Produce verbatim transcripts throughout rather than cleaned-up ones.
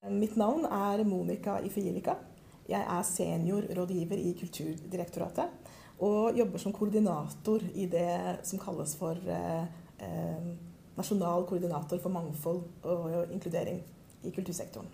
Mitt navn er Monica Ifeilika. Jeg er seniorrådgiver i Kulturdirektoratet og jobber som koordinator i det som kalles for eh, eh, Nasjonal koordinator for mangfold og inkludering i kultursektoren.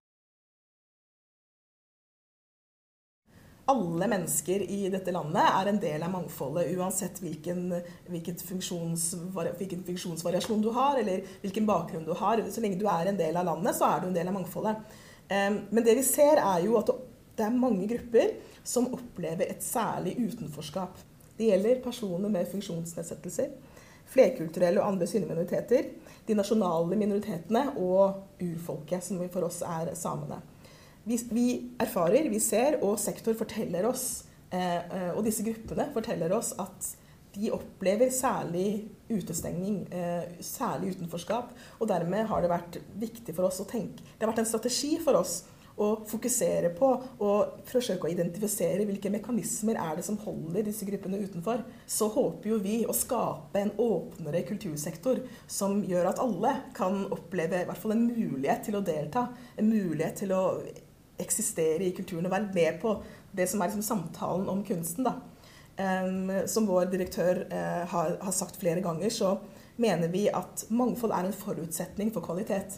Alle mennesker i dette landet er en del av mangfoldet, uansett hvilken, hvilken, funksjonsvari, hvilken funksjonsvariasjon du har, eller hvilken bakgrunn du har. Så lenge du er en del av landet, så er du en del av mangfoldet. Men det vi ser er jo at det er mange grupper som opplever et særlig utenforskap. Det gjelder personer med funksjonsnedsettelser, flerkulturelle og andre synlige minoriteter, de nasjonale minoritetene og urfolket, som for oss er samene. Vi, vi erfarer, vi ser, og sektor forteller oss, eh, og disse gruppene forteller oss at de opplever særlig utestengning, eh, særlig utenforskap, og dermed har det vært viktig for oss å tenke, det har vært en strategi for oss å fokusere på og forsøke å identifisere hvilke mekanismer er det som holder disse gruppene utenfor. Så håper jo vi å skape en åpnere kultursektor som gjør at alle kan oppleve i hvert fall en mulighet til å delta, en mulighet til å eksistere i kulturen og være med på det som er liksom samtalen om kunsten. Da. Um, som vår direktør uh, har, har sagt flere ganger, så mener vi at mangfold er en forutsetning for kvalitet.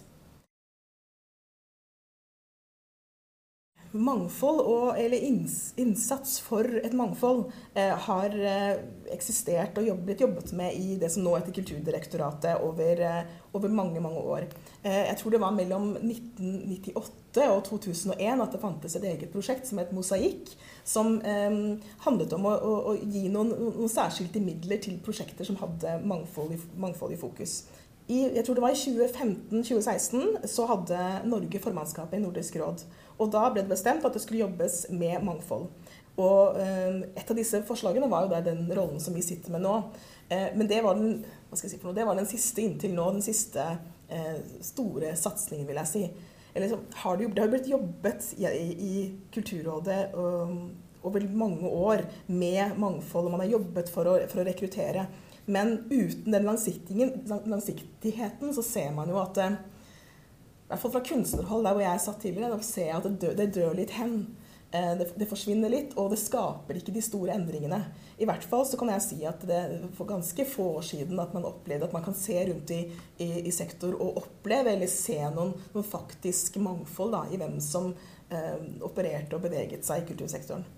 Mangfold og, eller innsats for et mangfold eh, har eh, eksistert og jobbet, blitt jobbet med i det som nå heter Kulturdirektoratet over, eh, over mange, mange år. Eh, jeg tror det var mellom nitten nittiåtte og to tusen og en at det fantes et eget prosjekt som het Mosaikk, som eh, handlet om å, å, å gi noen, noen særskilte midler til prosjekter som hadde mangfold i, mangfold i fokus. I, jeg tror det var i tjue femten til tjue seksten så hadde Norge formannskapet i Nordisk råd, og da ble det bestemt at det skulle jobbes med mangfold. Og eh, et av disse forslagene var jo der den rollen som vi sitter med nå. Eh, men det var, den, hva skal jeg si for noe? Det var den siste inntil nå, den siste eh, store satsningen, vil jeg si. Eller så har det, jo, det har blitt jobbet i, i Kulturrådet um, over mange år med mangfold, og man har jobbet for å, for å rekruttere. Men uten den langsiktigheten så ser man jo at, i hvert fall fra kunstnerhold, der hvor jeg satt tidligere, da ser jeg at det dør, det dør litt hen. Det, det forsvinner litt, og det skaper ikke de store endringene. I hvert fall så kan jeg si at det for ganske få år siden at man opplevde at man kan se rundt i, i, i sektor og oppleve eller se noen, noen faktisk mangfold da, i hvem som eh, opererte og beveget seg i kultursektoren.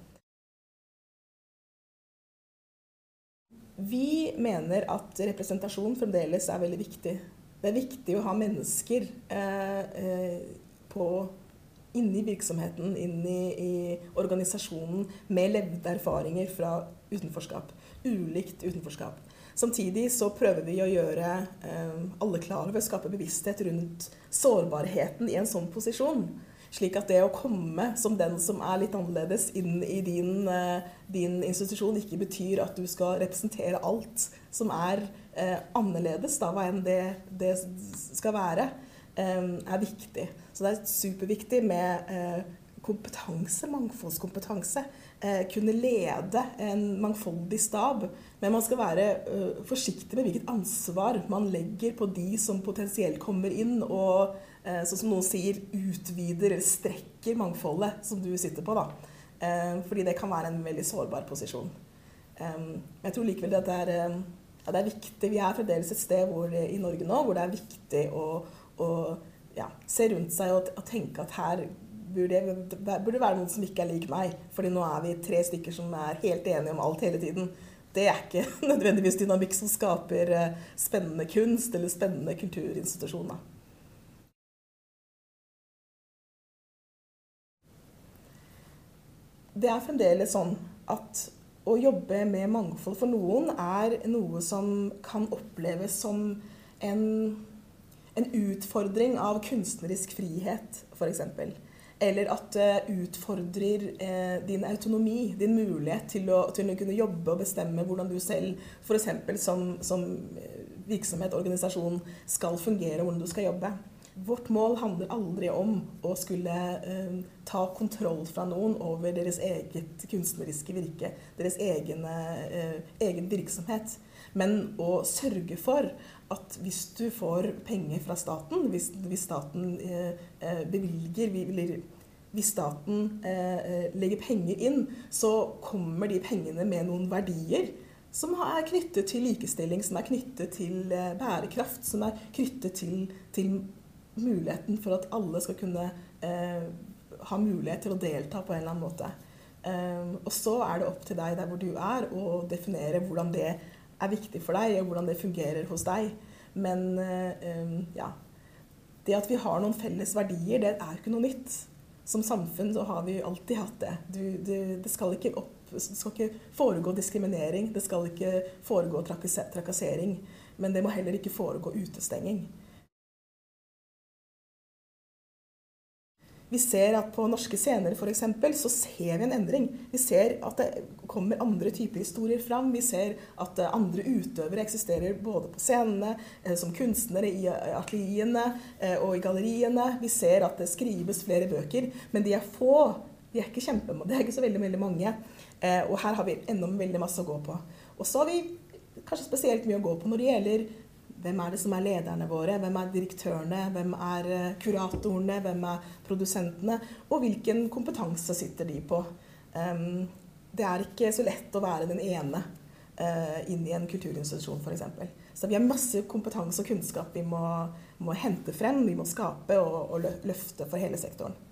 Vi mener at representasjon fremdeles er veldig viktig. Det er viktig å ha mennesker eh, eh, på, inni virksomheten, inni i organisasjonen, med levde erfaringer fra utenforskap, ulikt utenforskap. Samtidig så prøver vi å gjøre eh, alle klare ved å skape bevissthet rundt sårbarheten i en sånn posisjon. Slik at det å komme som den som er litt annerledes inn i din, din institusjon ikke betyr at du skal representere alt som er eh, annerledes, da, hva enn det, det skal være, eh, er viktig. Så det er superviktig med eh, kompetanse, mangfoldskompetanse. Eh, kunne lede en mangfoldig stab, men man skal være eh, forsiktig med hvilket ansvar man legger på de som potensielt kommer inn og sånn som noen sier, utvider eller strekker mangfoldet som du sitter på. Da. Fordi det kan være en veldig sårbar posisjon. Jeg tror likevel at det er, ja, det er viktig. Vi er fremdeles et sted hvor, i Norge nå hvor det er viktig å, å ja, se rundt seg og, og tenke at her burde, burde være noen som ikke er lik meg. Fordi nå er vi tre stykker som er helt enige om alt hele tiden. Det er ikke nødvendigvis dynamikk som skaper spennende kunst eller spennende kulturinstitusjoner. Det er fremdeles sånn at å jobbe med mangfold for noen er noe som kan oppleves som en, en utfordring av kunstnerisk frihet, for eksempel. Eller at det utfordrer eh, din autonomi, din mulighet til å, til å kunne jobbe og bestemme hvordan du selv, for eksempel som, som virksomhet, organisasjon, skal fungere, hvordan du skal jobbe. vårt mål handler aldri om å skulle eh, ta kontroll fra noen over deres eget kunstneriske virke, deres egen, eh, egen virksomhet. Men å sørge for at hvis du får penger fra staten, hvis, hvis staten eh, bevilger, eller hvis staten eh, legger penger inn, så kommer de pengene med noen verdier som er knyttet til likestilling, som er knyttet til eh, bærekraft, som er knyttet til, til muligheten for at alle skal kunne eh, ha mulighet til å delta på en eller annen måte. Eh, og så er det opp til deg der hvor du er, å definere hvordan det er viktig for deg, og hvordan det fungerer hos deg. Men eh, ja, det at vi har noen felles verdier, det er ikke noe nytt. Som samfunn så har vi alltid hatt det. Du, du, det, skal ikke opp, det skal ikke foregå diskriminering, det skal ikke foregå trakassering, men det må heller ikke foregå utestenging. Vi ser at på norske scener for eksempel, så ser vi en endring. Vi ser at det kommer andre typer historier fram. Vi ser at andre utøvere eksisterer både på scenene, som kunstnere i atelierne og i galleriene. Vi ser at det skrives flere bøker, men de er få. De er ikke kjempemange, det er ikke så veldig, veldig mange. Og her har vi enda veldig masse å gå på. Og så har vi kanskje spesielt mye å gå på når det gjelder hvem er det som er lederne våre, hvem er direktørene, hvem er kuratorene, hvem er produsentene, og hvilken kompetanse sitter de på. Det er ikke så lett å være den ene inn i en kulturinstitusjon for eksempel. Så vi har masse kompetanse og kunnskap vi må, må hente frem, vi må skape og, og løfte for hele sektoren.